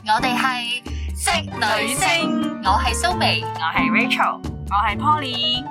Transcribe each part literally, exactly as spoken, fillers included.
我哋係職女聲，我係蘇眉， 我係 Rachel，我係 Poly。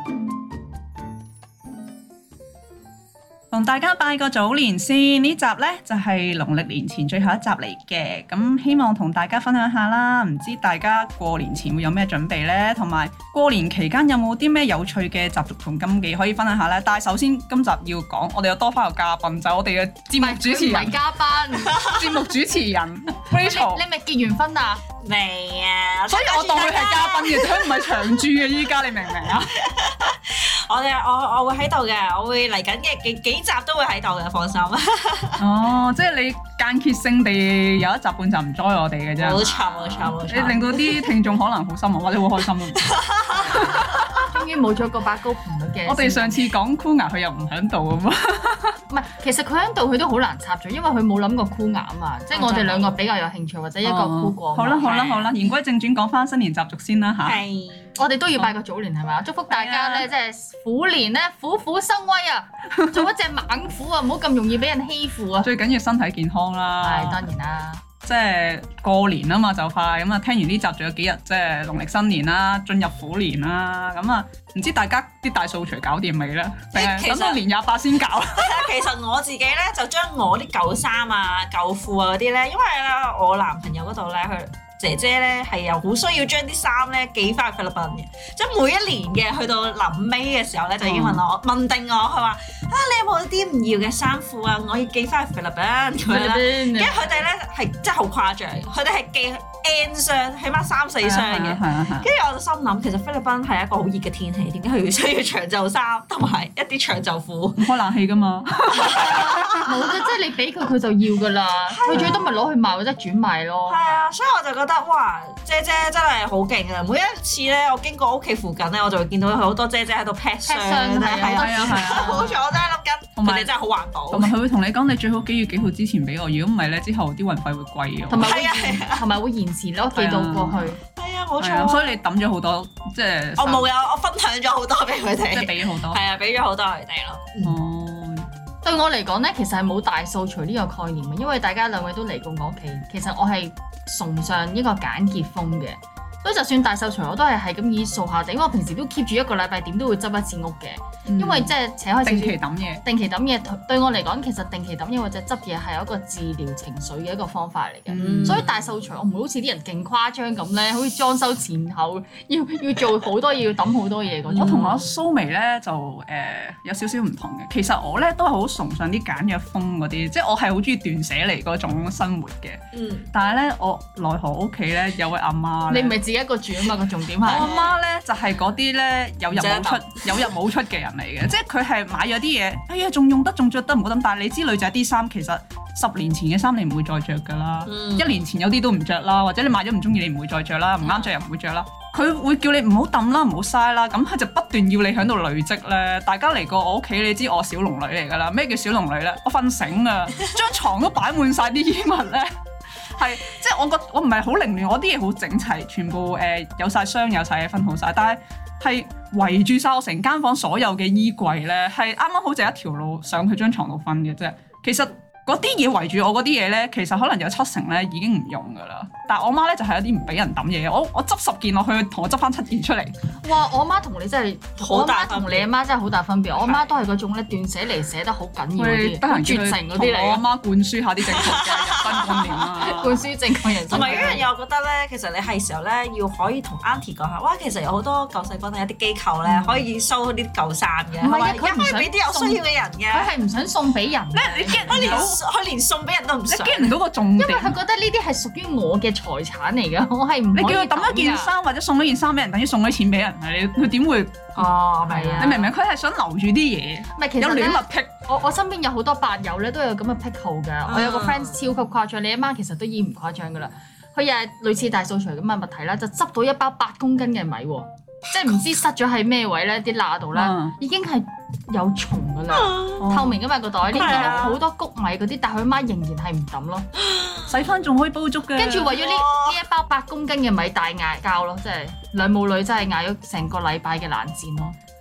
同大家拜個早年先，呢集呢就係農曆年前最後一集嚟嘅，咁希望同大家分享下啦。唔知大家過年前會有咩準備呢？同埋過年期間有冇啲咩有趣嘅習俗同禁忌可以分享下呢？但係首先今集要講，我哋有多翻個嘉賓，就係我哋嘅節目主持人， 唔係嘉賓， 節目主持人 Rachel。 你咪結完婚啊？ 未啊， 所以我當佢係嘉賓嘅，佢唔係長駐嘅。依家你明唔明啊？ 我哋我我會喺度嘅，我會嚟緊嘅幾幾集都會喺度嘅，放心。 哦，即係你間歇性地有一集半集唔 join 我哋嘅啫。 冇錯冇錯冇錯。 你令到啲聽眾可能好失望，或者好開心咯。 終於冇咗個把高頻率嘅。 我哋上次講箍牙，佢又唔喺度啊嘛。 唔係，其實佢喺度，佢都好難插嘴，因為佢冇諗過箍牙啊嘛。即係我哋兩個比較有興趣，或者一個箍過。 好啦好啦好啦，言歸正傳，講翻新年習俗先啦嚇。 係。 我哋都要拜個早年係嘛？祝福大家咧，即係虎年咧虎虎生威啊！做一隻猛虎啊，唔好咁容易俾人欺負啊！ 最緊要身體健康啦。 係當然啦。 即係過年啊嘛，就快咁啊！聽完呢集仲有幾日，即係農曆新年啦，進入虎年啦。咁啊，唔知大家啲大掃除搞掂未咧？定係等到年廿八先搞？ 其實我自己咧就將我啲舊衫啊、舊褲啊嗰啲咧，因為咧我男朋友嗰度咧佢。姐姐咧係又好需要將啲衫咧寄翻去菲律賓嘅，即係每一年嘅去到臨尾嘅時候咧就已經問我、嗯、問定我，佢話啊你有冇啲唔要嘅衫褲啊？我要寄翻去菲律賓咁樣啦。跟住佢哋咧係真係好誇張，佢哋係寄 N 箱，起碼三四箱嘅。跟住我就心諗，其實菲律賓係一個好熱嘅天氣，點解佢要需要長袖衫同埋一啲長袖褲？ 唔開冷氣㗎嘛？ 冇嘅，即係你俾佢佢就要㗎啦。佢最多咪攞去賣或者轉賣咯。 係啊，所以我就覺得哇，姐姐真係好勁啊！每一次咧，我經過屋企附近咧，我就會見到佢好多姐姐喺度 pack 箱，係啊係啊係啊！冇錯，我真係諗緊，佢哋真係好環保。 同埋佢會同你講，你最好幾月幾號之前俾我，如果唔係咧，之後啲運費會貴嘅。 同埋會同埋會延遲咯，寄到過去。 係啊，冇錯。 所以你抌咗好多，即係我冇有，我分享咗好多俾佢哋， 即係俾咗好多。 係啊，俾咗好多佢哋咯。 哦。 對我嚟講咧，其實係冇大掃除呢個概念嘅，因為大家兩位都嚟過我屋企，其實我係崇尚一個簡潔風嘅，所以就算大掃除我都係係咁以掃下地，因為我平時都 keep 住一個禮拜點都會執一次屋嘅，嗯、因為即係扯開定期抌嘢，定期抌嘢對我嚟講，其實定期抌嘢或者執嘢係一個治療情緒嘅一個方法嚟嘅，嗯、所以大掃除我唔會好似啲人勁誇張咁咧，好似裝修前後要要做好多嘢，要抌好多嘢嗰種。我同阿蘇眉咧就誒、呃、有少少唔同嘅，其實我咧都係好崇尚啲簡約風嗰啲，即係我係好中意斷捨離嗰種生活嘅。嗯、但係咧我奈何屋企咧有位阿媽， 你唔係自己一個住啊嘛？個重點係我阿媽咧就係嗰啲咧有入冇出有入冇出嘅人嚟嘅，即係佢係買咗啲嘢，哎呀仲用得仲着得唔好抌，但係你知女仔啲衫其實十年前嘅衫你唔會再着㗎啦，嗯、一年前有啲都唔着啦，或者你買咗唔中意你唔會再着啦，唔啱着又唔會着啦，佢會叫你唔好抌啦，唔好嘥啦，咁佢就不斷要你喺度累積咧。大家嚟過我屋企，你知我小龍女嚟㗎啦，咩叫小龍女咧？我瞓醒啊，張床都擺滿晒啲衣物咧。係，即係我覺我唔係好凌亂，我啲嘢好整齊，全部誒、呃、有晒箱有晒嘢分好晒，但係係圍住晒我成間房所有嘅衣櫃咧，係啱啱好就一條路上去張床度瞓嘅啫。其實嗰啲嘢圍住我嗰啲嘢咧，其實可能有七成咧已經唔用㗎啦。但係我媽咧就係有啲唔俾人抌嘢，我我執十件落去，同我執翻七件出嚟。哇！ 我媽同你真係好大分別，同你阿媽真係好大分別。我阿媽都係嗰種咧斷捨離捨得好緊要嗰啲，絕情嗰啲嚟。我阿媽灌輸下啲正確嘅人生觀念啦，灌輸正確人生。 同埋一樣嘢，我覺得咧，其實你係時候咧要可以同 Auntie 講下，哇！其實有好多救世軍有啲機構咧可以收啲舊衫嘅， 唔係啊， 佢唔想俾啲有需要嘅人嘅。 佢係唔想送俾人。 你 get 唔到？佢連送俾人都唔想。 你 get 唔到個重點。 因為佢覺得呢啲係屬於我嘅財產嚟㗎，我係唔可以。你叫佢抌一件衫或者送一件衫俾人，等於送咗錢俾人，你佢點會？ 哦，係啊！ 你明唔明？佢係想留住啲嘢， 唔係其實有戀物癖。 我我身邊有好多伯友咧，都有咁嘅癖好㗎。嗯、我有個 friend 超級誇張，你阿媽其實都已經唔誇張㗎啦。佢又係類似大掃除咁嘅物體啦，就執到一包八公斤嘅米喎，即係唔知塞咗喺咩位咧，啲罅度咧已經係有蟲㗎啦，嗯、透明㗎嘛個袋，你見到好多谷米嗰啲，但係佢媽仍然係唔抌咯， 洗翻仲可以煲粥嘅。跟住為咗呢呢一包八公斤嘅米大嗌交咯，即係兩母女真係嗌咗成個禮拜嘅冷戰咯。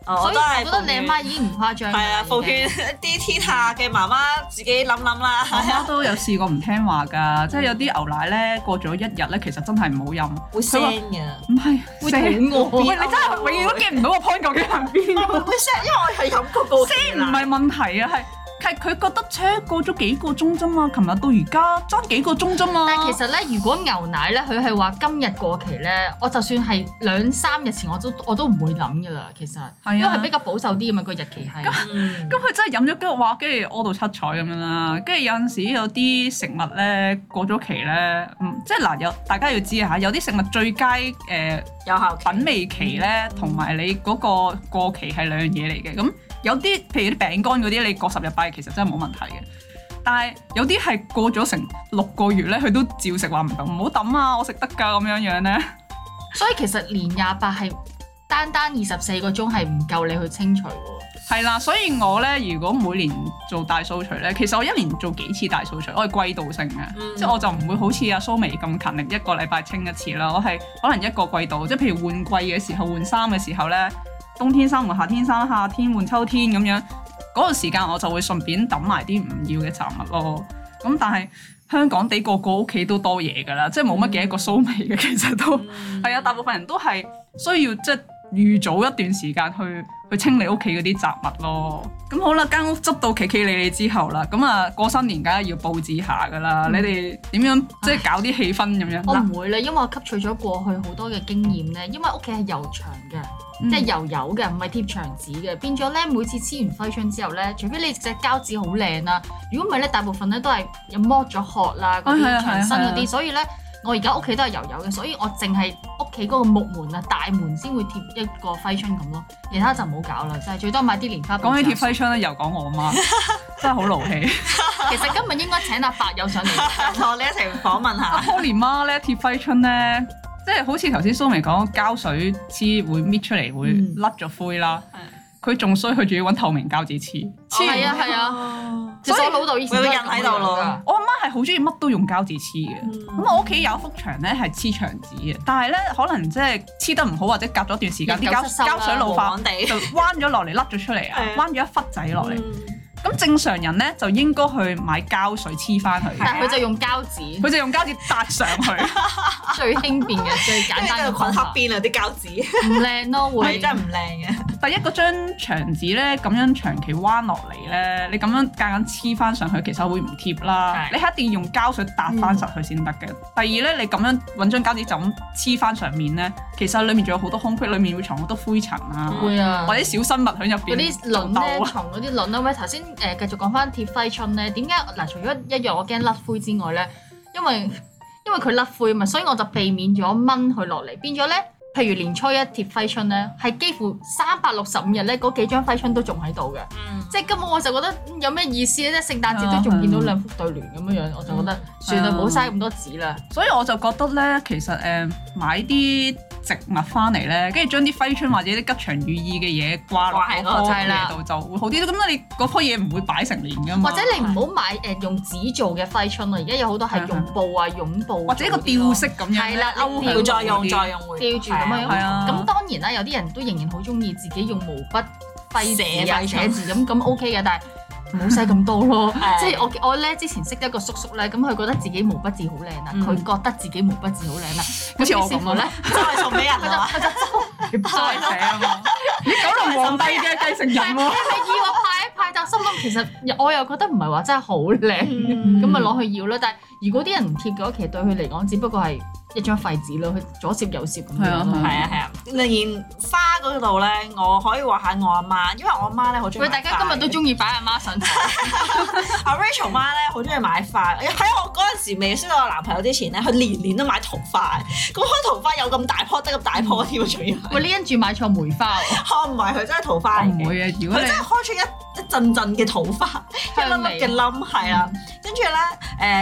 所以我覺得你阿媽已經唔誇張。 係啊，奉勸啲天下嘅媽媽自己諗諗啦。 我媽都有試過唔聽話㗎，即係有啲牛奶咧過咗一日咧，其實真係唔好飲， 會腥㗎。唔係會肚餓。 喂，你真係永遠都 get唔到個 point 究竟係邊個？ 會腥，因為我係飲過個腥唔係問題啊，係。係佢覺得車過咗幾個鐘啫嘛，琴日到而家爭幾個鐘啫嘛。 但係其實咧，如果牛奶咧，佢係話今日過期咧，我就算係兩三日前我都我都唔會諗噶啦。其實，啊、因為係比較保守啲咁嘛，個日期係。咁佢、 嗯、真係飲咗幾個話，跟住屙到七彩咁樣啦。跟住有陣時有啲食物咧過咗期咧，嗯，即係嗱有大家要知下，有啲食物最佳誒、呃、有效品味期咧，同埋、嗯、你嗰個過期係兩樣嘢嚟嘅咁。有啲譬如啲餅乾嗰啲，你過十日八日其實真係冇問題嘅。但係有啲係過咗成六個月咧，佢都照食話唔得，唔好抌啊！我食得㗎咁樣樣咧。 所以其實年廿八係單單二十四個鐘係唔夠你去清除喎。 係啦，所以我咧如果每年做大掃除咧，其實我一年做幾次大掃除，我係季度性嘅，嗯、即係我就唔會好似阿蘇眉咁勤力一個禮拜清一次啦。我係可能一個季度，即係譬如換季嘅時候換衫嘅時候咧。冬天衫換夏天衫，夏天換秋天咁樣，嗰、那個時間我就會順便抌埋啲唔要嘅雜物咯。咁但係香港地個個屋企都多嘢㗎啦，即係冇乜幾一個蘇眉嘅，其實都係、嗯、啊，大部分人都係需要即係預早一段時間去去清理屋企嗰啲雜物咯。咁好啦，間屋執到企企理理之後啦，咁啊過新年梗係要佈置下㗎啦。嗯、你哋點樣即係搞啲氣氛咁樣？ 我唔會啦，因為我吸取咗過去好多嘅經驗咧，因為屋企係油牆嘅。嗯、即係油油嘅，唔係貼牆紙嘅，變咗咧每次黐完揮春之後咧，除非你隻膠紙好靚啦，如果唔係咧，大部分咧都係有剝咗殼啦，嗰啲牆身嗰啲，所以咧我而家屋企都係油油嘅，所以我淨係屋企嗰個木門啊大門先會貼一個揮春咁咯，其他就唔好搞啦，就係最多買啲蓮花。講起貼揮春咧，又講我媽，真係好勞氣。 其實今日應該請阿伯友上嚟同我哋一齊訪問下。 阿 Polly 媽咧貼揮春咧。即係好似頭先蘇眉講膠水黐會搣出嚟會甩咗灰啦，佢仲衰，佢仲要揾透明膠紙黐。 係啊係啊，所以我老豆以前都印喺度咯。 我阿媽係好中意乜都用膠紙黐嘅，咁、嗯、我屋企有一幅牆咧係黐牆紙嘅，但係咧可能即係黐得唔好或者隔咗段時間啲膠膠水老化就彎咗落嚟甩咗出嚟啊，彎咗一忽仔落嚟。嗯咁正常人咧就應該去買膠水黐翻佢， 但係佢就用膠紙， 佢就用膠紙搭上去， 最輕便嘅、最簡單嘅困黑邊啊啲膠紙， 唔靚咯，會真係唔靚嘅。 第一嗰張牆紙咧咁樣長期彎落嚟咧，你咁樣夾硬黐翻上去，其實會唔貼啦。你係一定要用膠水搭翻實佢先得嘅。嗯、第二咧，你咁樣揾張膠紙就咁黐翻上面咧，其實裡面仲有好多空隙，裡面會藏好多灰塵啊， 會啊， 或者小生物喺入邊。嗰啲輪咧，藏嗰啲輪啊，喂頭先。誒繼續講翻貼揮春咧，點解嗱？除咗一樣我驚甩灰之外咧，因為因為佢甩灰嘛，所以我就避免咗掹佢落嚟，變咗咧，譬如年初一貼揮春咧，係幾乎三百六十五日咧，嗰幾張揮春都仲喺度嘅，嗯、即係根本我就覺得有咩意思咧？即係聖誕節都仲見到兩副對聯咁樣樣，嗯、我就覺得算啦，唔好嘥咁多紙啦。 所以我就覺得咧，其實誒、呃、買啲植物翻嚟咧，跟住將啲揮春或者啲吉祥寓意嘅嘢掛落喺嗰棵嘢度就會好啲。咁你嗰棵嘢唔會擺成年噶嘛？ 或者你唔好買誒用紙做嘅揮春啊！而家有好多係用布啊、絨布或者一個吊飾咁樣， 係啦， 吊再用再用會吊住咁樣。咁當然啦，有啲人都仍然好中意自己用毛筆揮字啊、寫字咁，咁 OK 嘅，但係唔好使咁多咯。即係我我咧之前識一個叔叔咧，咁佢覺得自己毛筆字好靚啦，佢覺得自己毛筆字好靚啦，好似我咁咧， 就係送俾人啦， 佢就周圍寫啊嘛。你九龍皇帝嘅繼承人喎， 你係要我派一派，但心諗其實我又覺得唔係話真係好靚，咁咪攞去要啦。但係如果啲人唔貼嘅話，其實對佢嚟講，只不過係一張廢紙咯，佢左攝右攝咁樣。係啊係啊係啊！連花嗰度咧，我可以話下我阿媽，因為我阿媽咧好中意。喂， 大家今日都中意擺阿媽上台。 阿 Rachel 媽咧好中意買花，喺我嗰陣時未識到我男朋友之前咧，佢年年都買桃花。咁開桃花有咁大棵，得咁大棵添喎，仲要。 喂，你因住買錯梅花喎。 哦，唔係，佢真係桃花嚟嘅。 唔會啊，如果你佢真係開出一一陣陣嘅桃花，一粒粒嘅冧係啦。跟住咧，誒桃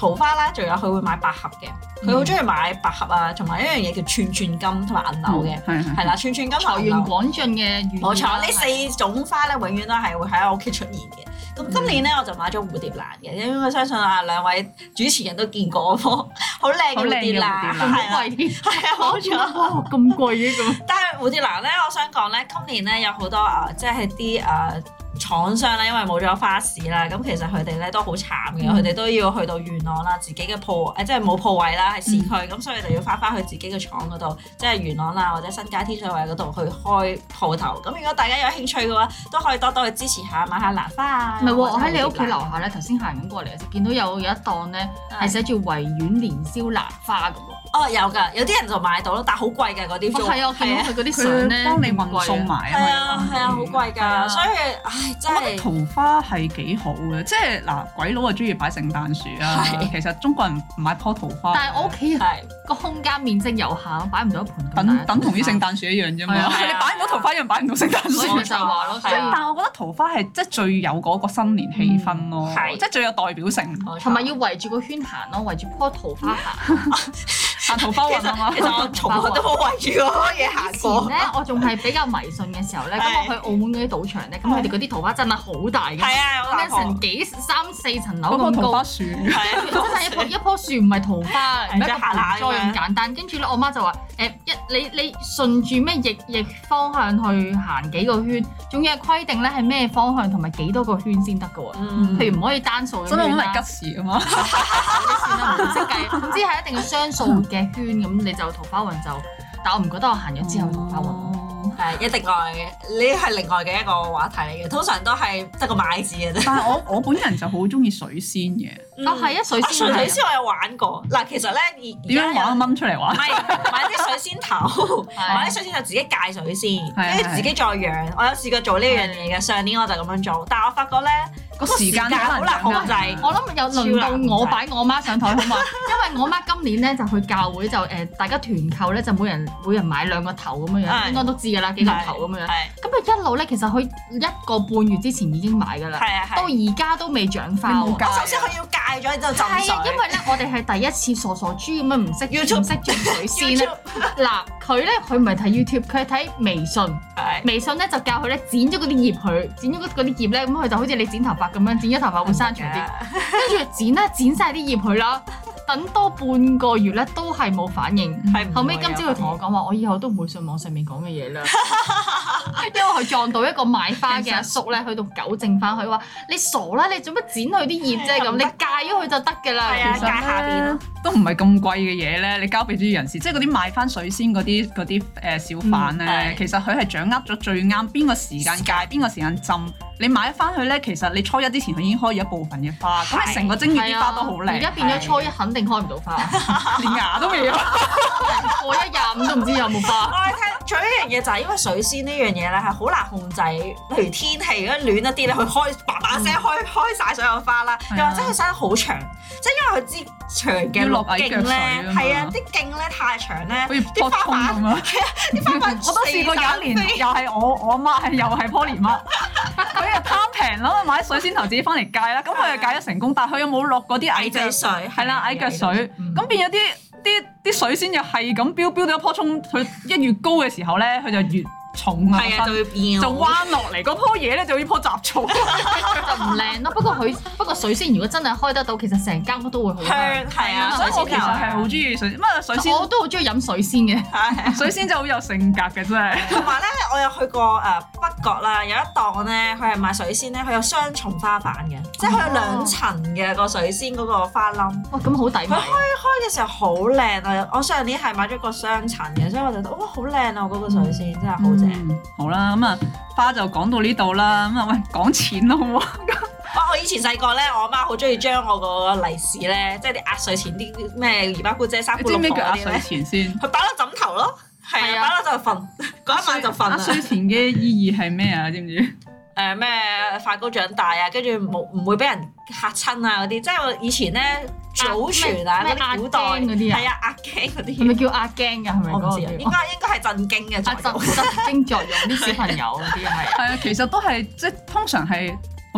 桃花啦，仲有佢會買百合嘅，佢好中意買百合啊，同埋一樣嘢叫串串金同埋銀柳嘅，係係啦，串串金財源廣進嘅， 冇錯，呢四種花咧永遠都係會喺我屋企出現嘅。咁今年咧我就買咗蝴蝶蘭嘅，因為我相信啊兩位主持人都見過嗰棵好靚嘅蝴蝶蘭， 好貴添，係啊冇錯，哇咁貴嘅咁。 但係蝴蝶蘭咧，我想講咧，今年咧有好多啊，即係啲誒。廠商咧，因為冇咗花市啦，咁其實佢哋咧都好慘嘅，佢哋、嗯、都要去到元朗啦，自己嘅鋪誒，即係冇鋪位啦，喺市區，咁、嗯、所以就要翻返去自己嘅廠嗰度，即係元朗啦或者新界天水圍嗰度去開鋪頭。咁如果大家有興趣嘅話，都可以多多去支持下，買下蘭花啊。唔係喎， 我喺你屋企樓下咧，頭先行緊過嚟嘅時候，見到有有一檔咧係寫住維園年宵蘭花咁喎。 哦，有㗎，有啲人就買到咯，但係好貴㗎嗰啲。 係啊，我見到佢嗰啲相咧， 幫你運送埋啊。 係啊，係啊，好貴㗎，所以唉，真係。 桃花係幾好嘅，即係嗱，鬼佬啊中意擺聖誕樹啊，其實中國人唔買棵桃花。 但係我屋企係個空間面積有限，擺唔到一盆咁大。 等等同啲聖誕樹一樣啫嘛，你擺唔到桃花一樣擺唔到聖誕樹。 所以就話咯， 但係我覺得桃花係即係最有嗰個新年氣氛咯，即係最有代表性， 同埋要圍住個圈行咯，圍住棵桃花行。行桃花運啊嘛， 其實我從來都冇圍住嗰個嘢行過。 以前咧，我仲係比較迷信嘅時候咧，咁我去澳門嗰啲賭場咧，咁佢哋嗰啲桃花真係好大嘅， 係啊，有大成幾三四層樓咁高。 嗰棵桃花樹係啊，真係一棵一棵樹唔係桃花，唔係一個盆栽咁簡單。跟住咧，我媽就話：誒一你你順住咩逆逆方向去行幾個圈，仲要係規定咧係咩方向同埋幾多個圈先得嘅喎。譬如唔可以單數咁樣啦。真係好吉時啊嘛！啲算啦，唔識計，總之係一定要雙數嘅圈咁，你就桃花運就。但我唔覺得我行咗之後桃花運咯。 係一定外嘅，呢係另外嘅一個話題嚟嘅。通常都係得個買字嘅啫。但係我我本人就好中意水仙嘅。 哦，係啊，水仙。 水仙我有玩過。嗱，其實咧點樣玩掹出嚟玩？ 唔係買啲水仙頭，買啲水仙頭自己戒水仙，跟住自己再養。我有試過做呢樣嘢嘅，上年我就咁樣做，但係我發覺咧個時間好難控制。 我諗有輪到我擺我媽上台好嘛？因為我媽今年咧就去教會就誒，大家團購咧就每人每人買兩個頭咁樣樣，應該都知㗎啦，幾個頭咁樣樣。咁佢一路咧，其實佢一個半月之前已經買㗎啦，到而家都未長花。 我首先佢要戒咗之後浸水。 係啊，因為咧我哋係第一次傻傻豬咁樣唔識唔識種水仙咧。嗱，佢咧佢唔係睇 YouTube，佢係睇微信。微信咧就教佢咧剪咗嗰啲葉佢，剪咗嗰嗰啲葉咧，咁佢就好似你剪頭髮咁樣，剪咗頭髮會生長啲。跟住剪啦，剪晒啲葉佢啦。等多半個月咧都係冇反應，後尾今朝佢同我講話，我以後都唔會信網上面講嘅嘢啦，因為佢撞到一個賣花嘅阿叔咧，去到糾正翻佢話：你傻啦，你做乜剪佢啲葉啫？咁你戒咗佢就得㗎啦。 其實戒下邊都唔係咁貴嘅嘢咧，你交俾專業人士，即係嗰啲賣翻水仙嗰啲嗰啲誒小販咧，其實佢係掌握咗最啱邊個時間戒，邊個時間浸。你買翻去咧，其實你初一之前佢已經開咗一部分嘅花，咁你成個正月啲花都好靚。 而家變咗初一肯定開唔到花， 連芽都未有。 過一廿五都唔知有冇花。 我哋聽，仲有一樣嘢就係因為水仙呢樣嘢咧係好難控制，譬如天氣如果暖一啲咧，佢開叭叭聲開開曬所有花啦，又或者佢生得好長，即係因為佢支長嘅綠莖咧，係啊，啲莖咧太長咧，啲花瓣係啊，啲花瓣我都試過有一年，又係我我阿媽係又係棵蓮乜。佢又貪平咯，買水仙頭自己翻嚟戒啦，咁佢又戒咗成功，但係佢又冇落嗰啲矮腳水，係啦矮腳水，咁變咗啲啲啲水仙又係咁飆飆到一樖葱，佢一越高嘅時候咧，佢就越重啊， 就會變， 就彎落嚟嗰棵嘢咧就呢棵雜草，就唔靚咯。不過佢不過水仙如果真係開得到，其實成間屋都會好香， 係啊。 所以我其實係好中意水，乜水仙我都好中意飲水仙嘅， 水仙就好有性格嘅真係。 同埋咧，我有去過誒北角啦，有一檔咧，佢係賣水仙咧，佢有雙重花瓣嘅，即係佢有兩層嘅個水仙嗰個花冧。 哇，咁好抵買！ 佢開開嘅時候好靚啊！我上年係買咗個雙層嘅，所以我就覺得哇好靚啊！嗰個水仙真係好正。 嗯、好啦，咁啊花就講到呢度啦，咁啊喂講錢咯好唔好？ 我以前細個咧，我阿媽好中意將我個利是咧，即係啲壓歲錢啲咩姨媽姑姐、三姑六婆嗰啲咧，你知唔知叫壓歲錢先？佢擺落枕頭咯，係啊，擺落就瞓，嗰一晚就瞓。壓歲錢嘅意義係咩啊？知唔知？誒咩快高長大啊，跟住冇唔會俾人嚇親啊嗰啲，即係我以前咧祖傳啊嗰啲古代嗰啲啊，係啊壓驚嗰啲，係咪叫壓驚㗎？係咪嗰個？我唔知啊，應該應該係震驚嘅作用，震震驚作用啲小朋友嗰啲係。係啊，其實都係即係通常係。好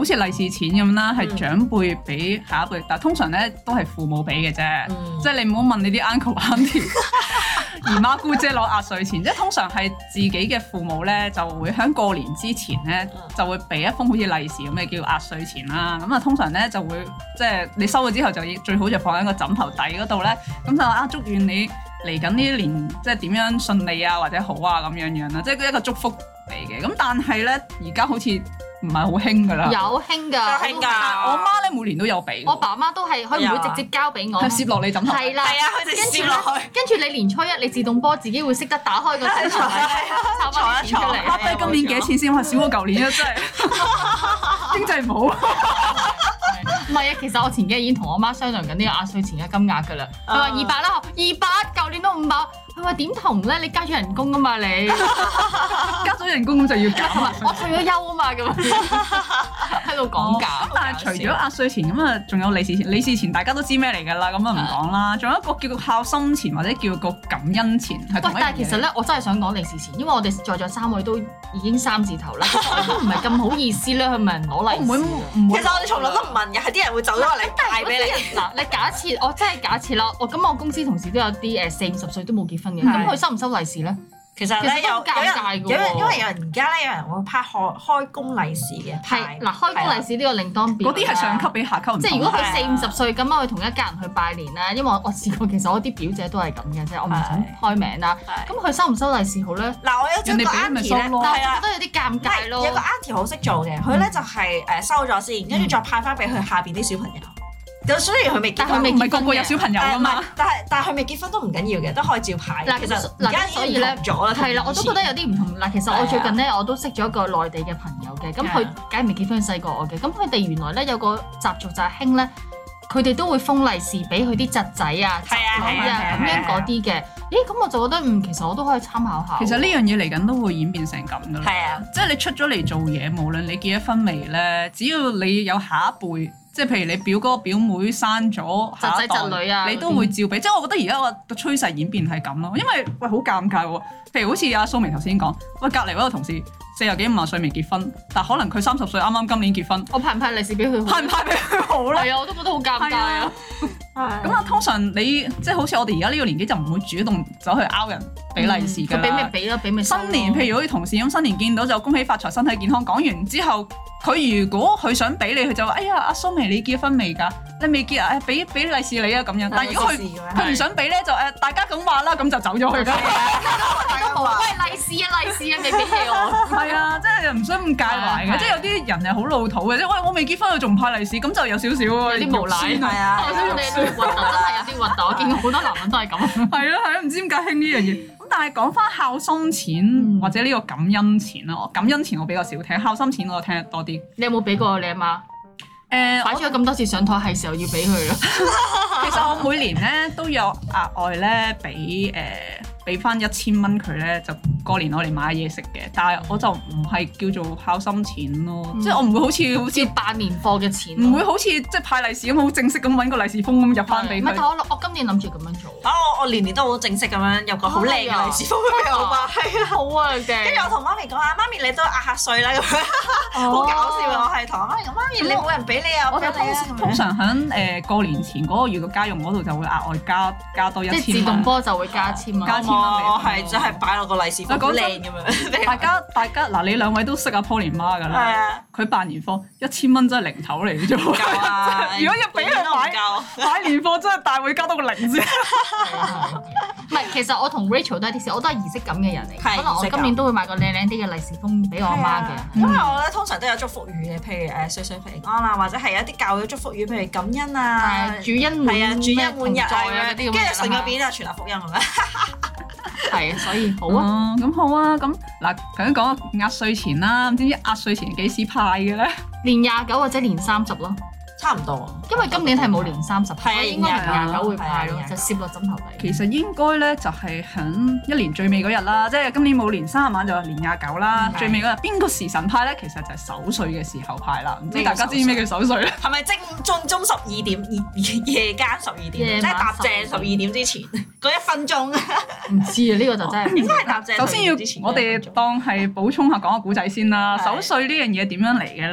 好似利是錢咁啦，係長輩俾下一輩，但係通常咧都係父母俾嘅啫，嗯、即係你唔好問你啲 uncle auntie 姨媽姑姐攞壓歲錢，即係通常係自己嘅父母咧就會喺過年之前咧就會俾一封好似利是咁嘅叫壓歲錢啦。咁啊通常咧就會即係你收咗之後就最好就放喺個枕頭底嗰度咧，咁就啊祝願你嚟緊呢一年即係點樣順利啊或者好啊咁樣樣啦，即係一個祝福嚟嘅。咁但係咧而家好似唔係好興㗎啦， 有興㗎， 興㗎。 我媽咧每年都有俾， 我爸媽都係，佢唔會直接交俾我， 係攝落你枕頭。 係啦， 係啊，佢哋攝落去。 跟住你年初一你自動波自己會識得打開個枕頭，抄翻啲錢出嚟。 阿爹今年幾多錢先？我少過舊年啊，真係經濟唔好。 唔係啊，其實我前幾日已經同我媽商量緊呢個壓歲錢嘅金額㗎啦。佢話二百啦，二百，舊年都五百。佢話點同咧？你加咗人工啊嘛，你加咗人工咁就要加埋。 我退咗休啊嘛，咁喺度講價。 咁但係除咗壓歲錢咁啊，仲有利是錢。利是錢大家都知咩嚟㗎啦，咁啊唔講啦。仲有一個叫做孝心錢或者叫個感恩錢，係同一樣嘢。喂， 但係其實咧，我真係想講利是錢，因為我哋在座三位都已經三字頭啦，我都唔係咁好意思咧去問人攞利是。唔會唔會。 其實我哋從來都唔問嘅，係啲人會走咗落嚟帶俾你。 嗱，你假設我真係假設啦，我咁我公司同事都有啲誒四五十歲都冇結婚嘅，咁佢收唔收利是咧？ 其實咧有有人，因為因為有人而家咧有人會派開開工利是嘅， 係嗱開工利是呢個另當別論。 嗰啲係上級比下級唔同。 即係如果佢四五十歲咁啊，去同一家人去拜年啦，因為我我試過，其實我啲表姐都係咁嘅，即係我唔想開名啦。咁佢收唔收利是好咧？嗱， 我有張個 auntie 咧， 但係我覺得有啲尷尬咯。 有個 auntie 好識做嘅，佢咧就係誒收咗先，跟住再派翻俾佢下邊啲小朋友。咁雖然佢未結婚， 唔係個個有小朋友㗎嘛， 但係但係佢未結婚都唔緊要嘅，都可以照派。 嗱， 其實而家所以咧，係啦，我都覺得有啲唔同。嗱，其實我最近咧我都識咗一個內地嘅朋友嘅，咁佢梗係未結婚，細過我嘅。咁佢哋原來咧有個習俗就係興咧，佢哋都會封利是俾佢啲侄仔啊、侄女啊咁樣嗰啲嘅。咦，咁我就覺得嗯，其實我都可以參考下。 其實呢樣嘢嚟緊都會演變成咁㗎啦。 係啊， 即係你出咗嚟做嘢，無論你結咗婚未咧，只要你有下一輩。即係譬如你表哥表妹生咗侄仔侄女啊， 你都會照俾。即係我覺得而家個趨勢演變係咁咯，因為喂好尷尬喎。譬如好似阿蘇眉頭先講，喂隔離嗰個同事四十幾五十歲未結婚，但可能佢三十歲啱啱今年結婚， 我派唔派利是俾佢？派唔派俾佢好咧？係啊，我都覺得好尷尬啊。 咁啊，通常你即係好似我哋而家呢個年紀就唔會主動走去拗人俾利是㗎啦。佢俾咩俾咯？俾咩？新年譬如好似同事咁，新年見到就恭喜發財、身體健康。講完之後，佢如果佢想俾你，佢就話：哎呀，阿蘇眉你結婚未㗎？你未結啊？誒，俾俾利是你啊咁樣。但係如果佢佢唔想俾咧，就誒大家咁話啦，咁就走咗去㗎。大家冇喂利是啊利是啊，未俾你我。係啊，即係唔想咁介懷嘅，即係有啲人係好老土嘅，即係喂我未結婚，佢仲唔派利是，咁就有少少有啲無賴。係啊，我想你啲核突真係有啲核突，我見過好多男人都係咁。係啊係啊，唔知點解興呢樣嘢。咁但係講翻孝心錢或者呢個感恩錢啦，感恩錢我比較少聽，孝心錢我聽得多啲。你有冇俾過你阿媽？誒，擺咗咁多次上台，係時候要俾佢啦。其實我每年咧都有額外咧俾誒俾翻一千蚊佢咧，就過年我嚟買嘢食嘅。但係我就唔係叫做孝心錢咯，嗯、即係我唔會好似好似辦年貨嘅錢，唔會好似即係派利是咁好正式咁揾個利是封咁入翻俾佢。唔係，但我我今年諗住咁樣做。啊，我我年年都好正式咁樣有個好靚嘅利是封俾我媽。係啊，好啊嘅。跟住我同媽咪講啊，媽咪你都壓下歲啦咁樣，好搞笑啊！我係同媽咪講，媽咪你冇人俾你啊，我俾你啊。通常喺誒過年前嗰個月嘅家用嗰度就會額外加加多一千蚊。即係自動波就會加千蚊。加千蚊俾我係真係擺落個利是封好靚咁樣。大家大家嗱，你兩位都識阿 Pauline 媽㗎啦。係啊。佢辦年貨一千蚊真係零頭嚟嘅啫喎。夠啊！如果要俾佢買買年貨，真係大會加多個零先。唔係，其實我同 Rachel 都係啲事，我都係儀式感嘅人嚟。可能我今年都會買個靚靚啲嘅利是封俾我阿媽嘅。因為我咧通常都有祝福語嘅，譬如誒歲歲平安啊，或者係一啲教嘅祝福語，譬如感恩啊、主恩滿係啊、主恩滿日啊嗰啲咁。跟住順嗰邊啊，傳達福音咁樣。係啊，所以好啊，咁好啊，咁嗱，頭先講壓歲錢啦，唔知壓歲錢幾時派嘅咧？年廿九或者年三十咯。差唔多，因為今年係冇年三十，所以應該係廿九會派咯，就攝落枕頭底。其實應該咧就係喺一年最尾嗰日啦，即係今年冇年三十晚就年廿九啦，最尾嗰日邊個時辰派咧？其實就係守歲嘅時候派啦。唔知大家知唔知咩叫守歲咧？係咪正正中十二點夜夜間十二點，即係搭正十二點之前嗰一分鐘？唔知啊，呢個就真係應該係搭正。首先要我哋當係補充下講個古仔先啦。守歲呢樣嘢點樣嚟嘅咧？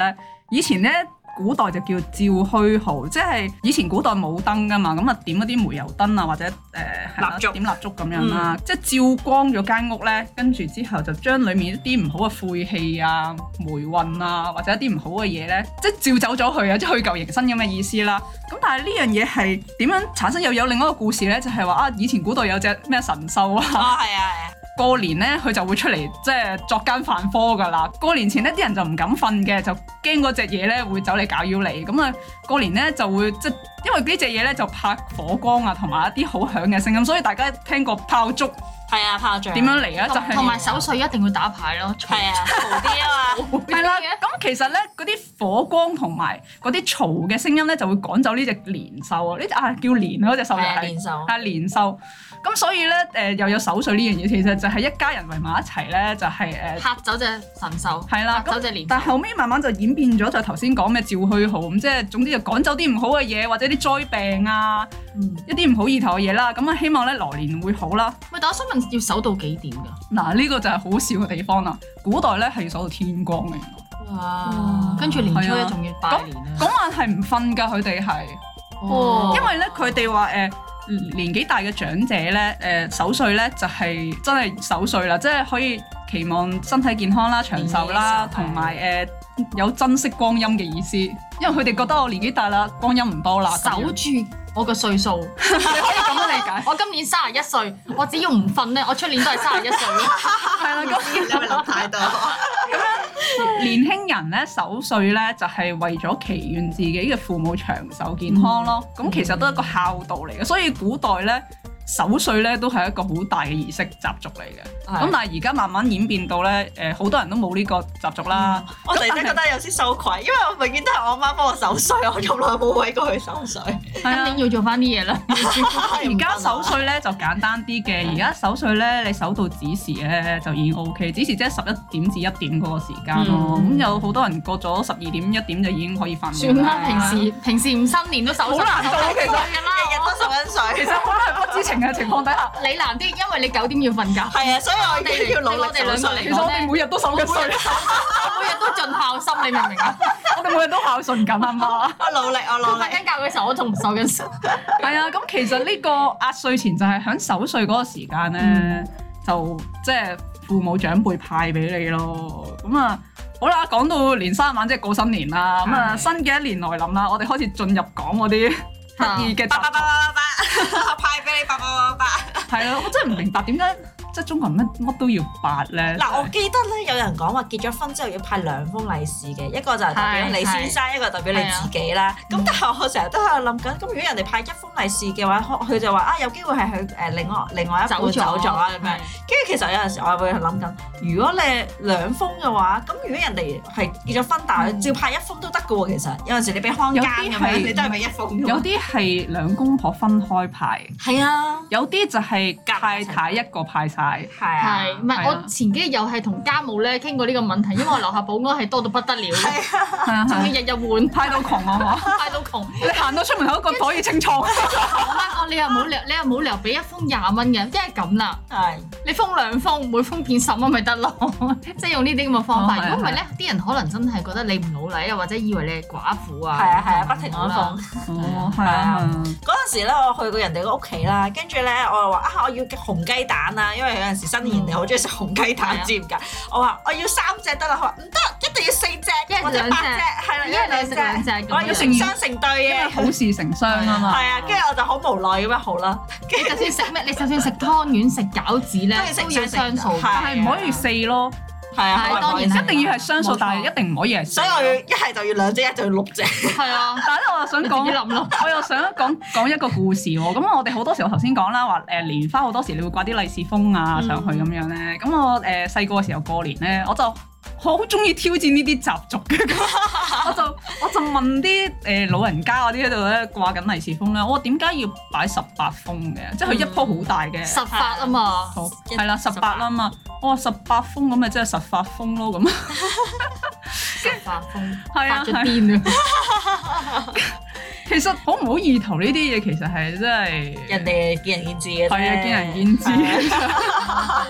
以前咧。古代就叫照虛號，即係以前古代冇燈噶嘛，咁啊點嗰啲煤油燈啊，或者誒、呃、蠟燭點蠟燭咁樣啦，嗯、即係照光咗間屋咧，跟住之後就將裡面一啲唔好嘅晦氣啊、霉運啊，或者一啲唔好嘅嘢咧，即係照走咗去啊，即係去舊迎新咁嘅意思啦。咁但係呢樣嘢係點樣產生？又有另一個故事咧，就係話啊，以前古代有隻咩神獸啊， 哦係啊係啊。 過年咧，佢就會出嚟即係作奸犯科噶啦。過年前咧，啲人就唔敢瞓嘅，就驚嗰隻嘢咧會走嚟搞擾你。咁啊，過年咧就會即係因為呢隻嘢咧就怕火光啊，同埋一啲好響嘅聲音，所以大家聽過炮竹係啊，炮仗點樣嚟啊？就係同埋守歲一定要打牌咯， 係啊，嘈啲啊嘛。 係啦，咁其實咧嗰啲火光同埋嗰啲嘈嘅聲音咧就會趕走呢隻年獸啊！呢隻啊叫年嗰隻獸就係年獸， 係年獸。咁所以咧，誒、呃、又有守歲呢樣嘢，其實就係一家人圍埋一齊咧，就係、是、誒嚇走隻神獸， 係啦， 嚇走隻年獸。 但係後尾慢慢就演變咗，就頭先講咩照虛號咁，即係總之就趕走啲唔好嘅嘢，或者啲災病啊，嗯、一啲唔好意頭嘅嘢啦。咁啊，希望咧來年會好啦。 喂，但我想問，要守到幾點㗎？ 嗱，呢個就係好笑嘅地方啦。古代咧係要守到天光嘅。 哇！跟住年初一仲要拜年啊！ 嗰晚係唔瞓㗎，佢哋係， 哦、 因為咧佢哋話誒。年紀大嘅長者咧，誒、呃、守歲咧就係、是、真係守歲啦，即係可以期望身體健康啦、長壽啦，同埋誒有珍惜光陰嘅意思。因為佢哋覺得我年紀大啦，光陰唔多啦， 守住我個歲數，你可以咁樣理解。我今年三十一歲，我只要唔瞓咧，我出年都係三十一歲。係啦，咁你咪諗太多。 咁樣年輕人咧守歲咧就係、是、為咗祈願自己嘅父母長壽健康咯。咁、嗯、其實都係一個孝道嚟嘅，所以古代咧守歲咧都係一個好大嘅儀式習俗嚟嘅。咁的但係而家慢慢演變到咧，誒、呃、好多人都冇呢個習俗啦。嗯、 我突然間覺得有啲羞愧，因為我永遠都係我媽幫我守歲，我從來冇為過佢守歲。 今年要做翻啲嘢啦。 而家守歲咧就簡單啲嘅，而家守歲咧你守到子時咧就已經 O K， 子時即係十一點至一點嗰個時間咯。咁、嗯、有好多人過咗十二點一點就已經可以瞓。 算啦，平時平時唔新年都守歲， 好難做其實， 日日都守緊歲。 其實可能係不知情嘅情況底下， 你難啲，因為你九點要瞓覺。 係啊，所以我哋要努力守歲。 其實我哋每日都守緊歲， 我每日都盡孝心，你明唔明啊？ 我哋每日都孝順緊啊嘛。 我努力，我努力。 瞓緊覺嘅時候，我仲守緊歲。 係啊，咁其實呢個壓歲錢就係喺守歲嗰個時間咧，嗯、就即係父母長輩派俾你咯。咁啊，好啦，講到年三十晚即係過新年啦，咁啊的新嘅一年來臨啦，我哋開始進入講嗰啲得意嘅習俗。 派俾你八八八八。 係啊，我真係唔明白點解。即係中國人乜乜都要八咧。 嗱，我記得咧有人講話結咗婚之後要派兩封利是嘅，一個就係代表你先生，一個代表你自己啦。咁但係我成日都喺度諗緊，咁如果人哋派一封利是嘅話，佢就話啊有機會係佢誒另外另外一半走咗啊咁樣。跟住其實有陣時我會諗緊，如果你兩封嘅話，咁如果人哋係結咗婚，但係照派一封都得嘅喎。其實有陣時你俾康家咁樣，你都係俾一封。 有啲係兩公婆分開派。 係啊。有啲就係太太一個派晒。 係啊， 唔係我前幾日又係同家務咧傾過呢個問題，因為我樓下保安係多到不得了，係啊，仲要日日換， 派到窮啊嘛， 派到窮， 你行到出門口一個可以清倉。我媽講你又冇理由，你又冇理由俾一封廿蚊嘅，即係咁啦，係你封兩封，每封變十蚊咪得咯，即係用呢啲咁嘅方法。如果唔係咧，啲人可能真係覺得你唔努力啊，或者以為你係寡婦啊， 係啊係啊，不停咁封。 哦，係啊。 嗰陣時咧，我去過人哋個屋企啦，跟住咧我又話啊，我要紅雞蛋啊，因為有陣時新年你好中意食紅雞蛋，知唔知？我話我要三隻得啦，佢話唔得，一定要四隻或者八隻，係啦，一係兩隻兩隻，我要成雙成對嘅， 好事成雙啊嘛。 係啊，跟住我就好無奈咁樣好啦。 你就算食咩，你就算食湯圓、食餃子咧，都要雙數， 但係唔可以四咯。係啊，當然一定要係雙數，但係一定唔可以係。所以我要一係就要兩隻，一就要六隻。係啊，但係咧我又想講，我又想講講一個故事喎。咁我哋好多時候頭先講啦，話誒蓮花好多時你會掛啲利是封啊上去咁樣咧。咁我誒細個嘅時候過年咧，我就好中意挑戰呢啲習俗嘅。我就我就問啲誒老人家嗰啲喺度咧掛緊利是封咧，我話點解要擺十八封嘅？即係佢一鋪好大嘅十八啊嘛， 係啦十八啊嘛。我話十八封咁咪即係十八封咯咁。 十八封係啊， 發咗癲啊！ 其實好唔好意頭呢啲嘢，其實係真係人哋見仁見智嘅啫。 係啊，見仁見智。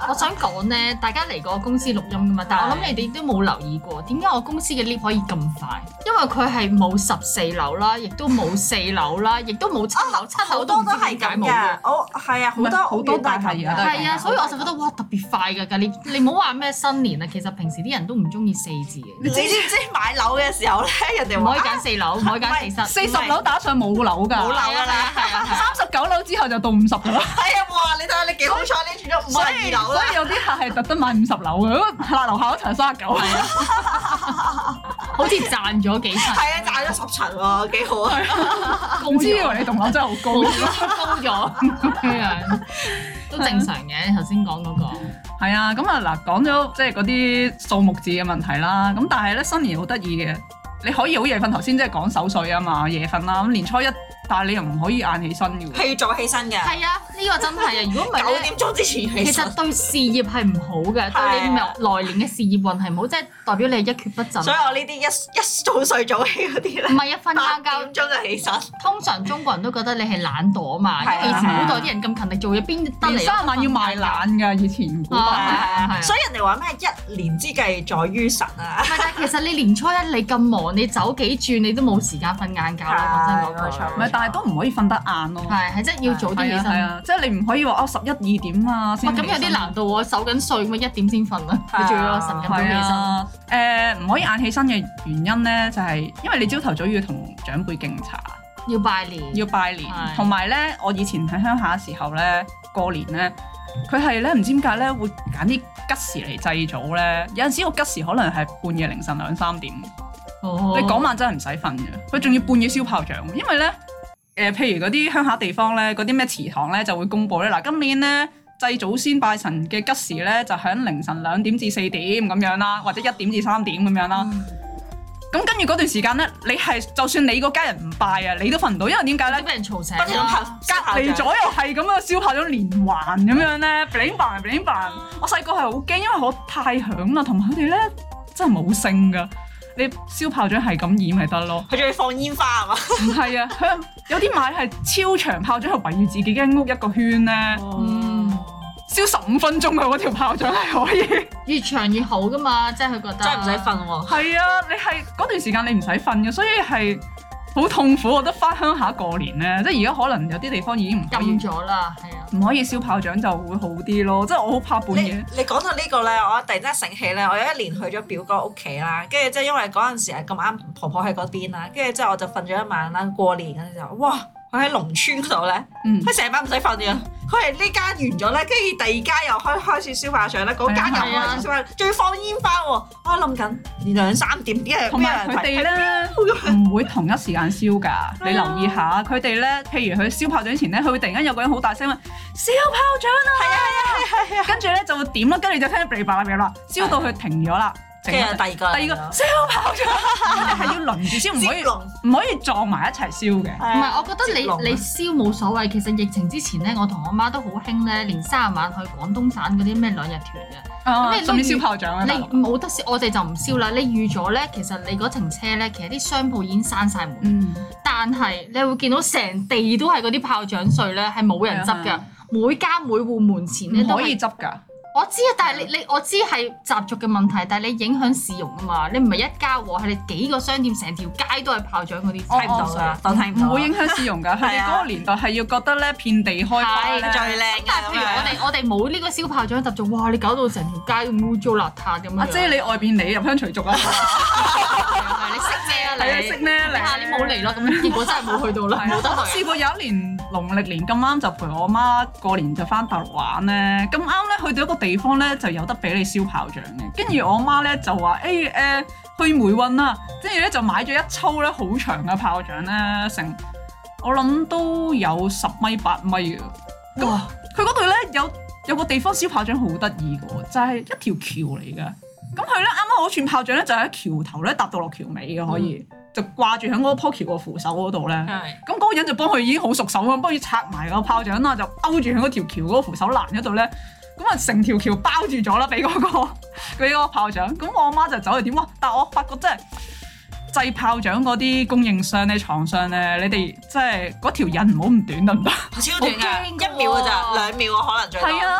我想講咧，大家嚟過公司錄音噶嘛，但係我諗你哋都冇留意過，點解我公司嘅 lift 可以咁快？因為佢係冇十四樓啦，亦都冇四樓啦，亦都冇七樓，七樓都唔知點解冇嘅。 我係啊，好多好多大廈而家都係啊，所以我就覺得哇特別快㗎，你你唔好話咩新年啊，其實平時啲人都唔中意四字嘅。 你知唔知買樓嘅時候咧，人哋唔可以揀四樓，唔可以揀四室， 四十樓打上冇樓㗎， 冇樓㗎啦，係啊， 三十九樓之後就到五十㗎啦。 係啊，哇！你睇下你幾好彩，你住咗五十二樓啦。 所以有啲客係特登買五十樓嘅，嗱樓下嗰層三十九係啊， 好似賺咗幾層。 係啊，賺咗十層喎，幾好啊！ 唔知以為你棟樓真係好高， 高咗咁樣都正常嘅。頭先講嗰個係啊，咁啊嗱，講咗即係嗰啲數目字嘅問題啦。咁但係咧新年好得意嘅，你可以好夜瞓。頭先即係講守歲啊嘛，夜瞓啦。咁年初一，但係你又唔可以晏起身嘅喎， 係要早起身嘅。係啊，呢個真係啊！如果唔係九點鐘之前起身， 其實對事業係唔好嘅，對你來年嘅事業運係唔好，即係代表你係一蹶不振。 所以我呢啲一一早睡早起嗰啲咧， 唔係一瞓覺覺八點鐘就起身。通常中國人都覺得你係懶惰啊嘛，因為以前古代啲人咁勤力做嘢，邊得嚟三晚要賣懶㗎？以前古代， 所以人哋話咩一年之計在於晨啊。 係，但係其實你年初一你咁忙，你走幾轉你都冇時間瞓晏覺啦。講真嗰句， 唔係，但係都唔可以瞓得晏咯。 係係，即係要早啲起身。係啊， 即係你唔可以話哦十一二點啊先。 咁有啲難度喎，守緊歲咁啊一點先瞓啊，你仲要晨咁早起身。 誒唔可以晏起身嘅原因咧，就係因為你朝頭早要同長輩敬茶， 要拜年， 要拜年。同埋咧，我以前喺鄉下嘅時候咧，過年咧，佢係咧唔知點解咧會揀啲吉時嚟祭祖咧。有陣時個吉時可能係半夜凌晨兩三點。哦，你嗰晚真係唔使瞓嘅，佢仲要半夜燒炮仗，因為咧。誒、呃，譬如嗰啲鄉下地方咧，嗰啲咩祠堂咧就會公佈咧，嗱今年咧祭祖先拜神嘅吉時咧就喺凌晨兩點至四點咁樣啦，或者一點至三點咁樣啦。咁、嗯、跟住嗰段時間咧，你係就算你個家人唔拜啊，你都瞓唔到，因為點解咧？ 俾人嘈醒啦， 隔離左右係咁樣燒炮仗連環咁樣咧 bling bang bling bang。我細個係好驚，因為我太響啦，同埋佢哋咧真係冇聲㗎。你燒炮仗係咁演咪得咯？ 佢仲要放煙花係嘛？ 唔係啊，佢有啲買係超長炮仗，係圍住自己間屋一個圈咧。嗯，燒十五分鐘啊！嗰條炮仗係可以越長越好噶嘛，即係佢覺得真係唔使瞓喎。 係啊，你係嗰段時間你唔使瞓嘅，所以係好痛苦。我覺得翻鄉下過年咧，即係而家可能有啲地方已經唔禁咗啦，係啊， 唔可以燒炮仗就會好啲咯。即係我好怕半夜。 你講到呢個咧，我突然之間醒起咧，我有一年去咗表哥屋企啦，跟住即係因為嗰陣時係咁啱婆婆喺嗰邊啦，跟住之後我就瞓咗一晚啦。過年嗰陣時候，哇！佢喺農村嗰度咧，佢成晚唔使瞓嘅。佢係呢間完咗咧，跟住第二間又開開始燒炮仗咧，嗰間又開始燒炮仗，仲要放煙花喎。我諗緊兩三點啲人， 同埋佢哋咧唔會同一時間燒㗎。你留意下佢哋咧，譬如佢燒炮仗前咧，佢會突然間有個人好大聲話燒炮仗啊！ 係啊係啊係啊！ 跟住咧就會點啦，跟住就聽到噼啪啦啦，燒到佢停咗啦。 跟住第二個， 第二個燒炮仗，我哋係要輪住燒，唔可以唔可以撞埋一齊燒嘅。 唔係，我覺得你你燒冇所謂。其實疫情之前咧，我同我媽都好興咧，連三十晚去廣東省嗰啲咩兩日團嘅。 咁你順便燒炮仗啊？ 你冇得燒，我哋就唔燒啦。你預咗咧，其實你嗰程車咧，其實啲商鋪已經閂晒門。嗯。但係你會見到成地都係嗰啲炮仗碎咧，係冇人執㗎。每家每戶門前咧都可以執㗎。 我知啊，但係你你我知係習俗嘅問題，但係你影響市容啊嘛，你唔係一家喎，係你幾個商店成條街都係炮仗嗰啲，睇唔到㗎，當睇唔到。 唔會影響市容㗎，佢哋嗰個年代係要覺得咧遍地開花咧最靚。 但係譬如我哋我哋冇呢個燒炮仗習俗，哇！你搞到成條街咁污糟邋遢咁樣。 阿姐你外邊嚟入鄉隨俗啊？ 你識咩啊？ 你識咩？ 你下年冇嚟咯，咁結果真係冇去到啦，冇得去。 試過有一年農曆年咁啱就陪我媽過年就翻大陸玩咧，咁啱咧去到一個地方咧就有得俾你燒炮仗嘅，跟住我媽咧就話誒誒去梅運啦，跟住咧就買咗一抽咧好長嘅炮仗咧，成我諗都有十米八米嘅。哇！佢嗰度咧有有個地方燒炮仗好得意嘅喎，就係一條橋嚟㗎。咁佢咧啱啱嗰串炮仗咧就喺橋頭咧搭到落橋尾嘅，可以、嗯、就掛住喺嗰棵橋個扶手嗰度咧。咁嗰個人就幫佢已經好熟手咁，幫佢拆埋個炮仗啦，就勾住喺嗰條橋嗰個扶手欄嗰度咧。咁啊成條橋包住咗啦，俾嗰個俾嗰個炮仗。咁我阿媽就走去點喎？但係我發覺真係製炮仗嗰啲供應商咧、廠商咧，你哋即係嗰條引唔好咁短得唔得？ 超短㗎，一秒㗎咋，兩秒啊可能最多。 係啊，即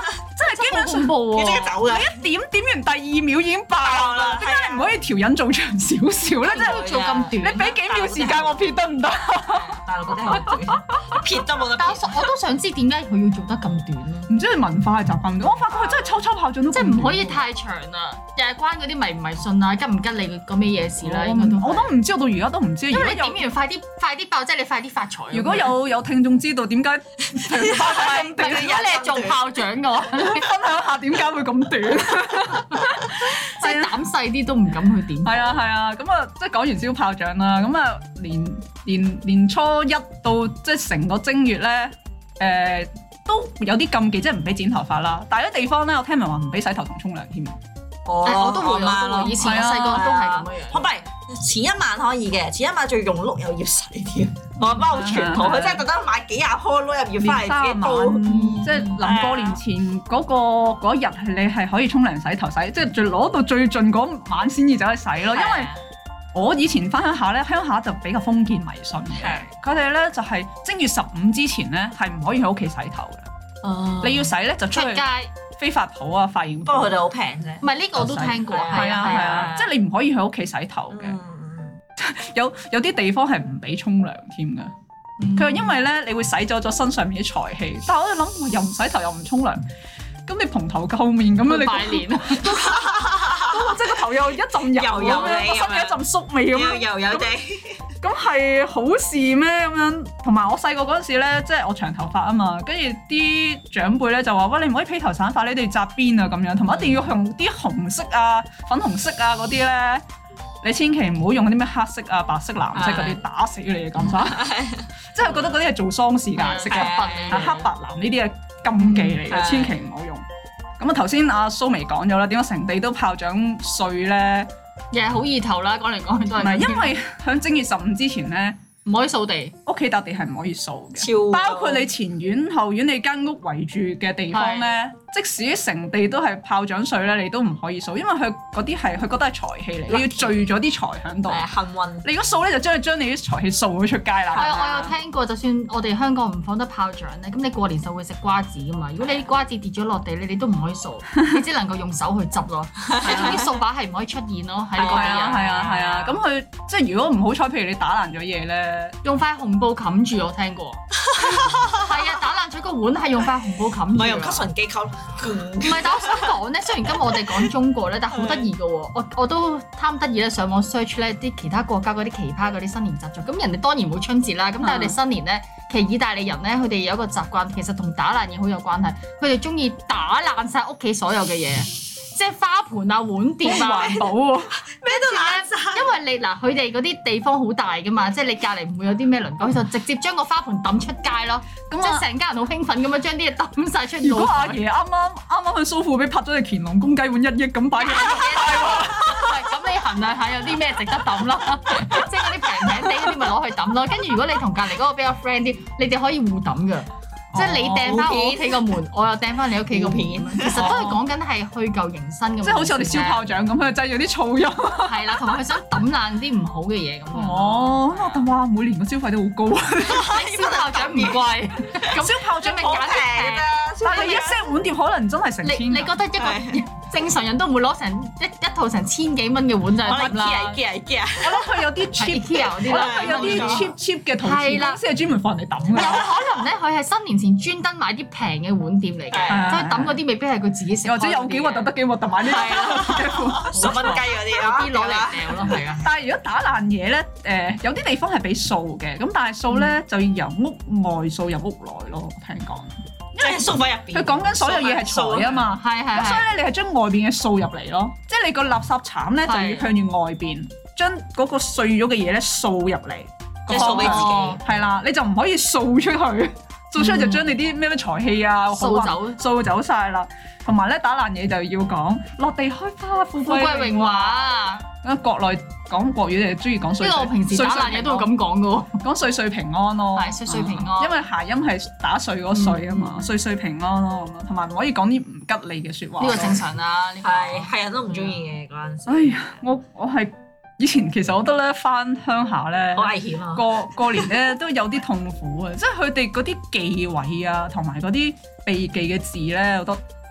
真係基本上恐怖喎！ 你即刻走嘅， 你一點點完第二秒已經爆啦，點解你唔可以條引做長少少咧？即係做咁短， 你俾幾秒時間我撇得唔得？ 大陸嗰啲好短，撇都冇得撇。 但我我都想知點解佢要做得咁短咯？ 唔知係文化係習慣，我發覺佢真係抽抽炮仗都即係唔可以太長啦，又係關嗰啲迷唔迷信啊，吉唔吉你個咩嘢事啦？應該都我都唔知，到而家都唔知。 因為你點完快啲快啲爆，即係你快啲發財。 如果有有聽眾知道點解炮仗咁短， 而家你係做炮仗嘅話， 你分享下點解會咁短？ 即係膽細啲都唔敢去點。 係啊係啊，咁啊即係講完燒炮仗啦，咁啊年年年初一到即係成個正月咧，誒都有啲禁忌，即係唔俾剪頭髮啦。但係有啲地方咧，我聽聞話唔俾洗頭同沖涼添。 哦， 我都會，我都會。以前我細個都係咁樣樣。 唔係前一晚可以嘅，前一晚仲要用碌又要洗添。我阿媽好傳統，佢真係特登買幾廿顆碌又要翻嚟自己煲。 即係臨過年前嗰個嗰日，你係可以沖涼洗頭洗，即係最攞到最盡嗰晚先至走去洗咯。因為我以前翻鄉下咧，鄉下就比較封建迷信嘅，佢哋咧就係正月十五之前咧係唔可以喺屋企洗頭嘅。你要洗咧就出去街。 飛髮鋪啊，髮型鋪， 不過佢哋好平啫。 唔係呢個我都聽過， 係啊係啊，即係你唔可以喺屋企洗頭嘅。有有啲地方係唔俾沖涼添㗎。佢話因為咧，你會洗走咗身上面啲財氣。但係我哋諗，又唔洗頭又唔沖涼，咁你蓬頭垢面咁樣，你拜年， 即係個頭又一陣油咁樣，個身有一陣宿味咁樣， 油油地。 咁係好事咩咁樣？同埋我細個嗰陣時咧，即係我長頭髮啊嘛，跟住啲長輩咧就話：喂，你唔可以披頭散髮，你哋紮辮啊咁樣，同埋一定要用啲紅色啊、粉紅色啊嗰啲咧，你千祈唔好用啲咩黑色啊、白色、藍色嗰啲，打死你嘅咁曬。即係覺得嗰啲係做喪事嘅顏色啊，黑白藍呢啲係禁忌嚟嘅，千祈唔好用。咁啊頭先阿蘇眉講咗啦，點解成地都炮仗碎咧？ 又係好意頭啦，講嚟講去都係。唔係，因為喺正月十五之前咧， 唔可以掃地， 屋企笪地係唔可以掃嘅， 超包括你前院後院你間屋圍住嘅地方咧，即使成地都係炮仗碎咧，你都唔可以掃，因為佢嗰啲係佢覺得係財氣嚟，你要聚咗啲財喺度。 幸運。 你如果掃咧，就將你將你啲財氣掃咗出街啦。 係啊，我有聽過，就算我哋香港唔放得炮仗咧，咁你過年就會食瓜子噶嘛。如果你啲瓜子跌咗落地咧，你都唔可以掃，你只能夠用手去執咯。你總之掃把係唔可以出現咯，喺嗰啲人。 係啊係啊，咁佢即係如果唔好彩，譬如你打爛咗嘢咧， 用塊紅布冚住，我聽過。係啊，打爛咗個碗係用塊紅布冚住。 唔係用吸塵機吸。 唔係，但我想講咧，雖然今日我哋講中國咧，但係好得意嘅喎。我我都貪得意咧，上網 search 咧啲其他國家嗰啲奇葩嗰啲新年習俗。咁人哋當然冇春節啦，咁但係我哋新年咧，其實意大利人咧，佢哋有一個習慣，其實同打爛嘢好有關係。佢哋中意打爛晒屋企所有嘅嘢。即係花盆啊、碗碟啊，環保喎， 咩都爛晒。 因為你嗱，佢哋嗰啲地方好大噶嘛，即係你隔離唔會有啲咩鄰居，佢就直接將個花盆抌出街咯。咁即係成家人好興奮咁樣將啲嘢抌晒出去。 如果阿爺啱啱啱啱去蘇富比拍咗隻乾隆公雞碗一億咁擺嘅， 咁你衡量下有啲咩值得抌咯？即係嗰啲平平地嗰啲咪攞去抌咯。跟住如果你同隔離嗰個比較 friend 啲，你哋可以互抌㗎。即係你掟翻我屋企個門，我又掟翻你屋企個門，其實都係講緊係去舊迎新咁。即係好似我哋燒炮仗咁，佢製咗啲噪音。 係啦，同埋佢想抌爛啲唔好嘅嘢咁樣。 哦，咁我諗哇，每年個消費都好高。 燒炮仗唔貴，咁燒炮仗咪揀啲平。 但係一 set 碗碟可能真係成千。 你覺得一個正常人都唔會攞成一一套成千幾蚊嘅碗就係得啦。 我諗佢有啲 cheap 嗰啲啦， 有啲 cheap cheap 嘅陶瓷公司係專門放人哋抌嘅。 有可能咧，佢係新年前專登買啲平嘅碗碟嚟嘅，所以抌嗰啲未必係佢自己食。 或者有幾核突得幾核突買啲十蚊雞嗰啲啲攞嚟掉咯，係啊。 但係如果打爛嘢咧，誒有啲地方係俾掃嘅，咁但係掃咧就要由屋外掃入屋內咯，聽講。 即係掃翻入邊。 佢講緊所有嘢係財啊嘛， 係係。 咁所以咧，你係將外邊嘅掃入嚟咯，即係你個垃圾鏟咧就要向住外邊，將嗰個碎咗嘅嘢咧掃入嚟， 即係掃俾自己。 係啦，你就唔可以掃出去，掃出去就將你啲咩咩財氣啊掃走， 掃走晒啦。同埋咧打爛嘢就要講落地開花，富貴榮華。咁國內講國語就中意講歲歲。因為我平時打爛嘢都會咁講嘅喎，講歲歲平安咯。 係歲歲平安。 因為諧音係打碎嗰歲啊嘛，歲歲平安咯咁樣，同埋唔可以講啲唔吉利嘅説話。 呢個正常啦，呢個係係人都唔中意嘅嗰陣時。 哎呀，我我係以前其實我覺得咧翻鄉下咧， 好危險啊！ 過過年咧都有啲痛苦啊，即係佢哋嗰啲忌諱啊，同埋嗰啲避忌嘅字咧，我覺得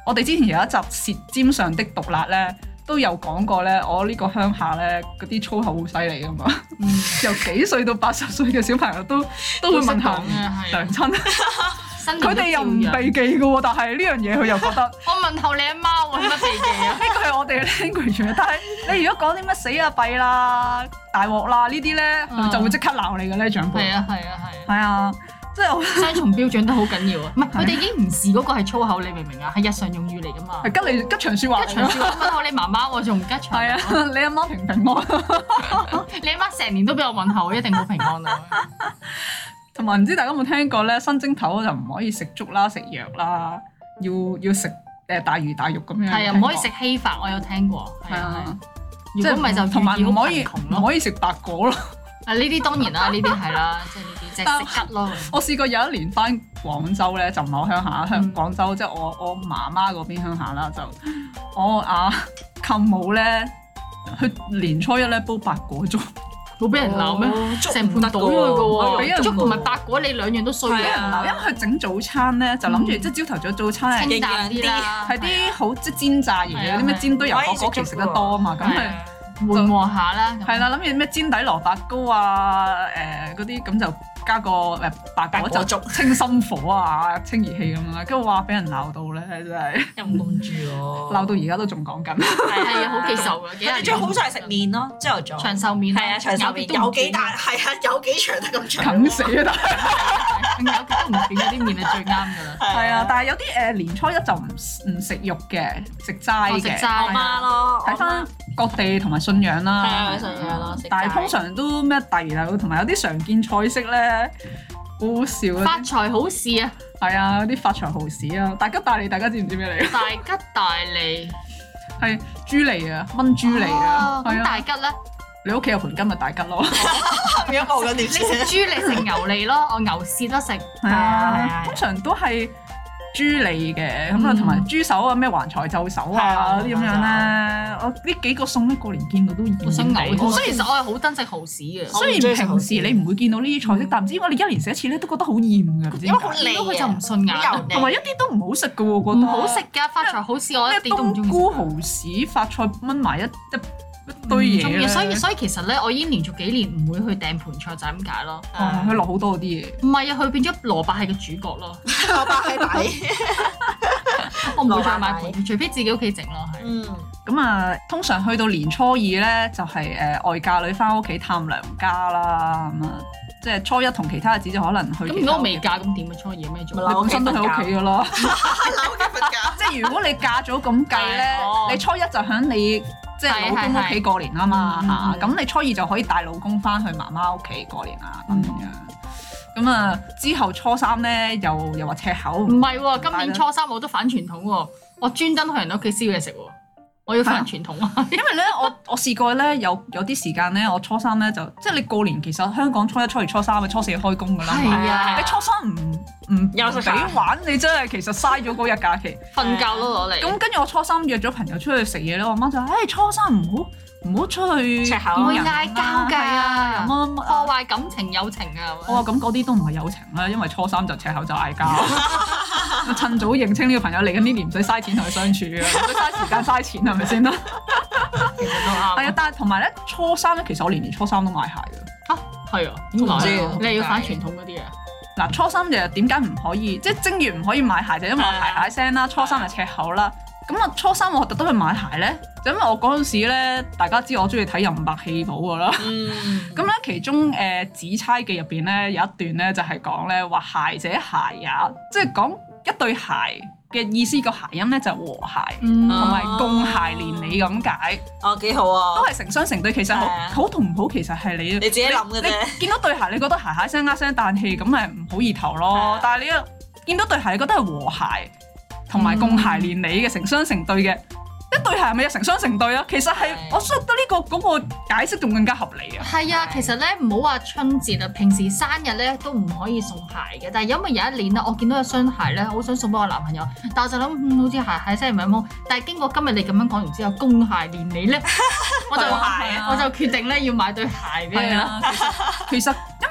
我哋之前有一集《舌尖上的毒辣》咧，都有講過咧，我呢個鄉下咧嗰啲粗口好犀利噶嘛，嗯、由幾歲到八十歲嘅小朋友都都會問下娘親。佢哋又唔避忌嘅喎，但係呢樣嘢佢又覺得我問候你阿媽喎，有乜避忌啊？ 呢個係我哋嘅 language，但係你如果講啲乜死啊弊啦、大鑊啦呢啲咧，佢就會即刻鬧你嘅咧長輩。係啊係啊係。 係啊，即係我雙重標準都好緊要啊！唔係佢哋已經唔視嗰個係粗口，你明唔明啊？係日常用語嚟㗎嘛。係吉你吉祥説話。 吉祥説話問候你媽媽喎，仲唔吉祥？ 係啊，你阿媽平平安。 你阿媽成年都俾我問候，一定好平安啊！ 同埋唔知大家有冇聽過咧？新正頭就唔可以食粥啦、食藥啦，要要食誒大魚大肉咁樣。係啊， 唔可以食稀飯，我有聽過。係啊，如果唔係就同埋唔可以唔可以食白果咯。 啊，呢啲當然啦，呢啲係啦，即係呢啲即係食吉咯。 我試過有一年翻廣州咧，就唔係我鄉下，鄉廣州即係我我媽媽嗰邊鄉下啦，就我阿舅母咧，佢年初一咧煲白果粥。 冇俾人鬧咩？成盤倒咗佢嘅喎，粥同埋白果你兩樣都衰嘅。俾人鬧， 因為佢整早餐咧就諗住即係朝頭早早餐係清淡啲啦， 係啲好即係煎炸嘢，有啲咩煎堆油果果其實食得多啊嘛，咁係緩和下啦。 係啦，諗住咩煎底蘿蔔糕啊，誒嗰啲咁就加個誒白果就清心火啊，清熱氣咁樣啦。跟住話俾人鬧到咧，真係陰公豬喎， 鬧到而家都仲講緊。 係啊，好記仇㗎，幾廿年。 最好就係食麵咯，朝頭早長壽麵。係啊， 長壽麵有幾大？係啊，有幾長得咁長。 啃死啊！ 但係有幾都唔斷嗰啲麵係最啱㗎啦。 係啊，但係有啲誒年初一就唔唔食肉嘅，食齋嘅。 食齋我媽咯。 睇翻各地同埋信仰啦。 係啊，信仰咯。 但係通常都咩遞啦，同埋有啲常見菜式咧，好好笑啊！ 發財好事啊！ 係啊，啲發財好事啊！大吉大利，大家知唔知咩嚟？ 大吉大利係豬脷啊，炆豬脷啊。 咁大吉咧？ 你屋企有盤金咪大吉咯。 變咗冇咗點先？ 你食豬脷食牛脷咯，我牛舌都食。 係啊，通常都係豬脷嘅，咁啊同埋豬手啊，咩橫財就手啊啲咁樣咧。我呢幾個餸咧過年見到都厭想嘔。 所所以其實我係好憎食蠔豉嘅。 雖然平時你唔會見到呢啲菜式，但唔知點解你一年食一次咧都覺得好厭㗎。 因為好膩啊， 佢就唔順眼， 同埋一啲都唔好食㗎喎，覺得。 唔好食㗎，發財好市我一啲都唔中意。 冬菇蠔豉發菜炆埋一一一堆嘢咧。 所以所以其實咧，我已經連續幾年唔會去訂盤菜就係咁解咯。 哇！佢落好多啲嘢。 唔係啊，佢變咗蘿蔔係個主角咯。 蘿蔔係底。 我唔會再買盤，除非自己屋企整咯。係。 嗯。 咁啊，通常去到年初二咧，就係誒外嫁女翻屋企探娘家啦。咁啊，即係初一同其他日子就可能去。咁如果我未嫁咁點啊？初二咩做？ 你本身都喺屋企噶啦。 喺屋企瞓覺。 即係如果你嫁咗咁計咧，你初一就喺你即係老公屋企過年啊嘛嚇，咁你初二就可以帶老公翻去媽媽屋企過年啊咁樣。咁啊之後初三咧又又話赤口。 唔係喎，今年初三我都反傳統喎，我專登去人屋企燒嘢食喎。我要反傳統啊！ 因為咧，我我試過咧，有有啲時間咧，我初三咧就即係你過年，其實香港初一、初二、初三，咪初四開工㗎啦。 係啊！ 你初三唔唔又俾玩，你真係其實嘥咗嗰日假期。 瞓覺都攞嚟。咁跟住我初三約咗朋友出去食嘢咧，我媽就話：誒初三唔好唔好出去， 唔會嗌交㗎， 破壞感情友情啊！ 我話咁嗰啲都唔係友情啦，因為初三就赤口就嗌交。趁早認清呢個朋友嚟緊呢年唔使嘥錢同佢相處啊，唔使嘥時間嘥錢係咪先啦？ 其實都啱。 係啊，但係同埋咧，初三咧，其實我年年初三都買鞋㗎。 嚇係啊？點解？你係要反傳統嗰啲啊？嗱， 初三就點解唔可以？即係正月唔可以買鞋，就因為我鞋鞋聲啦。初三係赤口啦。咁啊，初三我特登去買鞋咧，就因為我嗰陣時咧，大家知我中意睇任白戲寶㗎啦。咁咧、嗯，其中誒《紫釵記》入邊咧有一段咧，就係講咧話鞋者鞋也，即係講一對鞋嘅意思。個諧音咧就係和諧，同埋、嗯、共諧連理咁解。 哦，幾好啊！ 都係成雙成對，其實好好同唔好，其實係你你自己諗嘅啫。 你見到對鞋，你覺得鞋鞋聲呃聲彈氣，咁咪唔好意頭咯。但係你一見到對鞋，你覺得係和諧。同埋共諧連理嘅成雙成對嘅一對鞋係咪有成雙成對啊？其實係的我覺得呢個嗰個解釋仲更加合理啊！ 係啊，其實咧唔好話春節啊，平時生日咧都唔可以送鞋嘅。但係因為有一年咧，我見到有雙鞋咧，好想送俾我男朋友，但我就諗、嗯、好似鞋鞋聲唔係咁好。但係經過今日你咁樣講完之後，共諧連理咧，我就我就決定咧要買對鞋俾佢啦。 其實因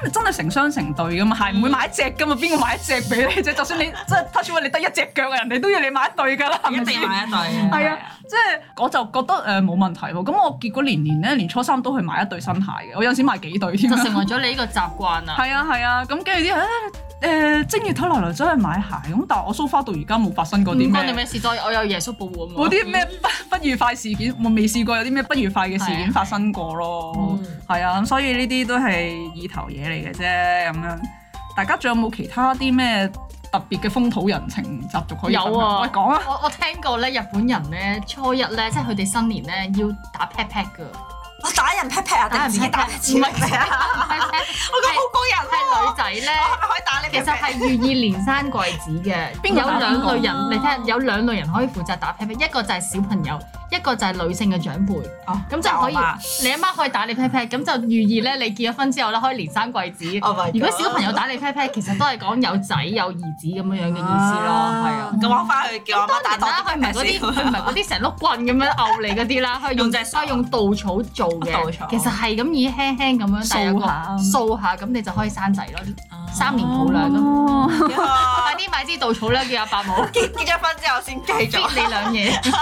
係真係成雙成對噶嘛，係唔會買一隻噶嘛，邊個買一隻俾你啫？就算你即係 touch wood 你得一隻腳，人哋都要你買一對㗎啦，係咪先？ 一定買一對。 係啊，即係我就覺得誒冇問題喎。咁我結果年年咧，年初三都去買一對新鞋嘅，我有陣時買幾對添。就成為咗你呢個習慣啊！ 係啊係啊，咁跟住啲人誒正月頭來來走去買鞋，咁但係我 so far 到而家冇發生過啲咩。唔關你咩事，再我有耶穌保護啊嘛。嗰啲咩不不愉快事件，我未試過有啲咩不愉快嘅事件發生過咯。係啊，咁所以呢啲都係意頭嘢嚟嘅啫，咁樣。大家仲有冇其他啲咩特別嘅風土人情習俗可以分享？有啊，喂講啊！ 我我聽過咧，日本人咧初一咧，即係佢哋新年咧要打 pat pat 㗎。 我打人 pat pat 啊，定係自己打？唔係啊，我覺得好過癮喎！ 係女仔咧， 可以打你。 其實係寓意連生貴子嘅。有兩類人，你聽有兩類人可以負責打 pat pat，一個就係小朋友，一個就係女性嘅長輩。哦，咁就可以，你阿媽可以打你 pat pat，咁就寓意咧你結咗婚之後咧可以連生貴子。如果小朋友打你 pat pat，其實都係講有仔有兒子咁樣樣嘅意思咯，係啊。 咁我翻去叫阿媽打多啲。 佢唔係嗰啲，佢唔係嗰啲成碌棍咁樣拗你嗰啲啦，佢用佢用稻草做。其實係咁以輕輕咁樣掃下掃下，咁你就可以生仔咯，三年抱兩咯。快啲買支稻草啦，叫阿伯母結結咗婚之後先繼續你兩嘢。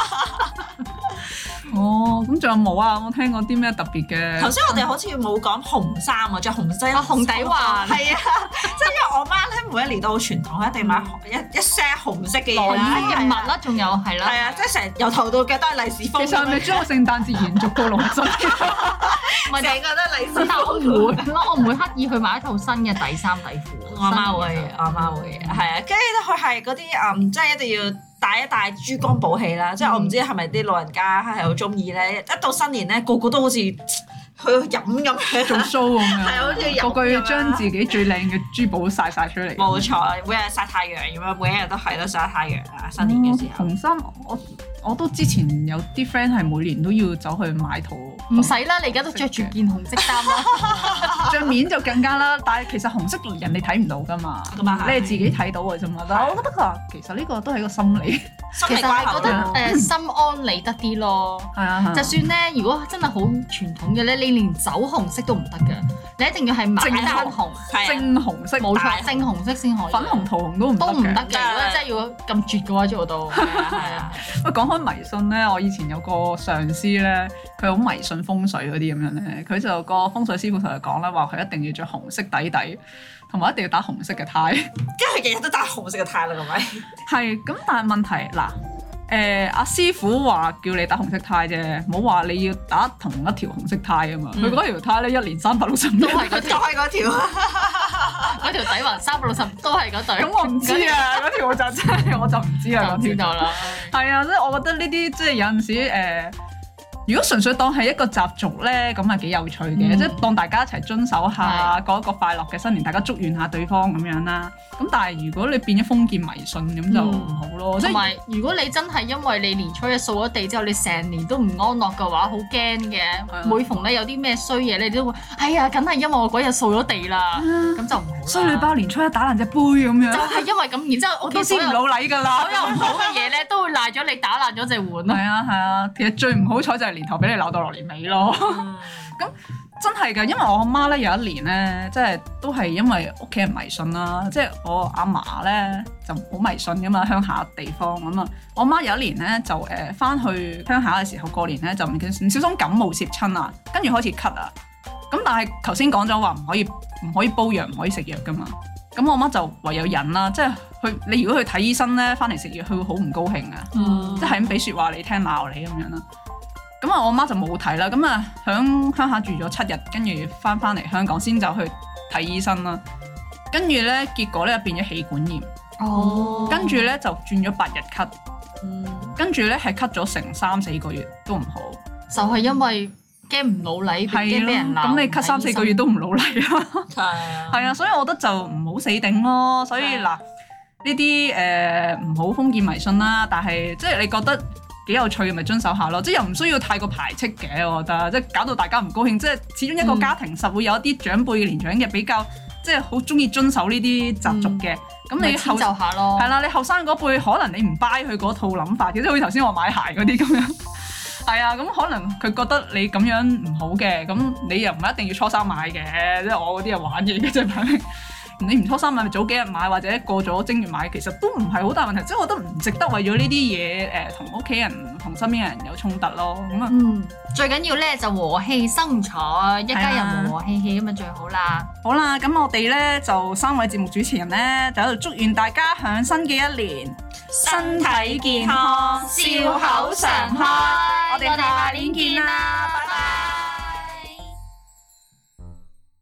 哦，咁仲有冇啊？我聽過啲咩特別嘅？ 頭先我哋好似冇講紅衫啊，着紅色紅底環。係啊， 即係因為我媽咧每一年都好傳統，一定買一一 set 紅色嘅嘢啦， 嘅襪啦，仲有係啦。係啊，即係成日由頭到腳都係利是封。 其實係咪將個聖誕節延續到六十？ 唔係，成日都利是。但我唔會咯，我唔會刻意去買一套新嘅底衫底褲。 我阿媽會，我阿媽會，係啊，跟住咧佢係嗰啲嗯，即係一定要帶一帶珠光寶氣啦。即係我唔知係咪啲老人家係好中意咧，一到新年咧個個都好似去飲咁樣做 show 咁樣， 係好似飲。 個個要將自己最靚嘅珠寶曬曬出嚟。 冇錯，每日曬太陽咁樣，每一日都係咯曬太陽啊！新年嘅時候。 紅衫我我都之前有啲 friend 係每年都要走去買套。 唔使啦，你而家都着住件紅色衫啦， 著面就更加啦。但係其實紅色人哋睇唔到㗎嘛，你係自己睇到嘅啫嘛。但係我覺得佢話其實呢個都係一個心理， 其實係覺得誒心安理得啲咯。係啊，就算咧，如果真係好傳統嘅咧，你連走紅色都唔得嘅，你一定要係買單紅， 正紅色， 冇錯，正紅色先可以。 粉紅桃紅都唔都唔得嘅，如果真係要咁絕嘅話做到。係啊， 喂，講開迷信咧，我以前有個上司咧，佢好迷信風水嗰啲咁樣咧，佢就個風水師傅同佢講咧，話佢一定要着紅色底底，同埋一定要打紅色嘅呔。 即係日日都打紅色嘅呔啦，係咪？ 係咁，但係問題嗱，誒阿師傅話叫你打紅色呔啫，冇話你要打同一條紅色呔啊嘛。佢嗰條呔咧一年三百六十五日都係嗰條， 都係嗰條， 嗰條底環三百六十都係嗰對。 咁我唔知啊，嗰條我就真係我就唔知啦。 就知道啦。 係啊，即係我覺得呢啲即係有陣時誒。如果純粹當係一個習俗咧，咁啊幾有趣嘅，嗯、即係當大家一齊遵守下，過一個快樂嘅新年，大家祝願下對方咁樣啦。咁但係如果你變咗封建迷信咁就唔好咯。 同埋、嗯、如果你真係因為你年初一掃咗地之後，你成年都唔安樂嘅話，好驚嘅。嗯、每逢咧有啲咩衰嘢，你都會哎呀，梗係因為我嗰日掃咗地啦，咁、嗯、就唔好。衰女包年初一打爛隻杯咁樣。就係因為咁，然之後我都先唔老禮㗎啦。所有唔好嘅嘢咧，都會賴咗你打爛咗隻碗咯。 係啊係啊，其實最唔好彩就係年頭俾你鬧到落年尾咯，咁真係㗎，因為我阿媽咧有一年咧，即係都係因為屋企人迷信啦，即係我阿嫲咧就好迷信㗎嘛，鄉下地方咁啊，我阿媽有一年咧就誒返去鄉下嘅時候過年咧就唔唔小心感冒攝親啊，跟住開始咳啊，咁但係頭先講咗話唔可以唔可以煲藥唔可以食藥㗎嘛，咁我阿媽就唯有忍啦，即係去你如果去睇醫生咧，返嚟食藥佢會好唔高興啊，嗯、即係咁俾説話你聽鬧你咁樣啦。咁啊，我媽就冇睇啦。咁啊，喺鄉下住咗七日，跟住翻翻嚟香港先就去睇醫生啦。跟住咧，結果咧變咗氣管炎。哦。跟住咧就轉咗八日咳。嗯。跟住咧係咳咗成三四個月都唔好。 就係因為驚唔老禮，驚俾人鬧。 咁你咳三四個月都唔老禮啦。係啊。係啊，所以我覺得就唔好死頂咯。所以嗱，呢啲誒唔好封建迷信啦。但係即係你覺得幾有趣嘅咪遵守下咯，即係又唔需要太過排斥嘅，我覺得即係搞到大家唔高興，即係始終一個家庭實會有一啲長輩年長嘅比較，即係好中意遵守呢啲習俗嘅。咁、嗯、你後就下咯，係啦，你後生嗰輩可能你唔 buy 佢嗰套諗法嘅，即係好似頭先我買鞋嗰啲咁樣， 係啊，咁可能佢覺得你咁樣唔好嘅，咁你又唔一定要初三買嘅，即係我嗰啲係玩嘢嘅啫，反正。你唔初三買咪早幾日買，或者過咗正月買，其實都唔係好大問題。即係我覺得唔值得為咗呢啲嘢誒同屋企人同身邊嘅人有衝突咯。咁啊， 嗯，最緊要咧就和氣生財，一家人和和氣氣咁啊最好啦。 好啦，咁我哋咧就三位節目主持人咧就喺度祝願大家響新嘅一年身體健康，笑口常開。 我哋下年見啦，拜拜。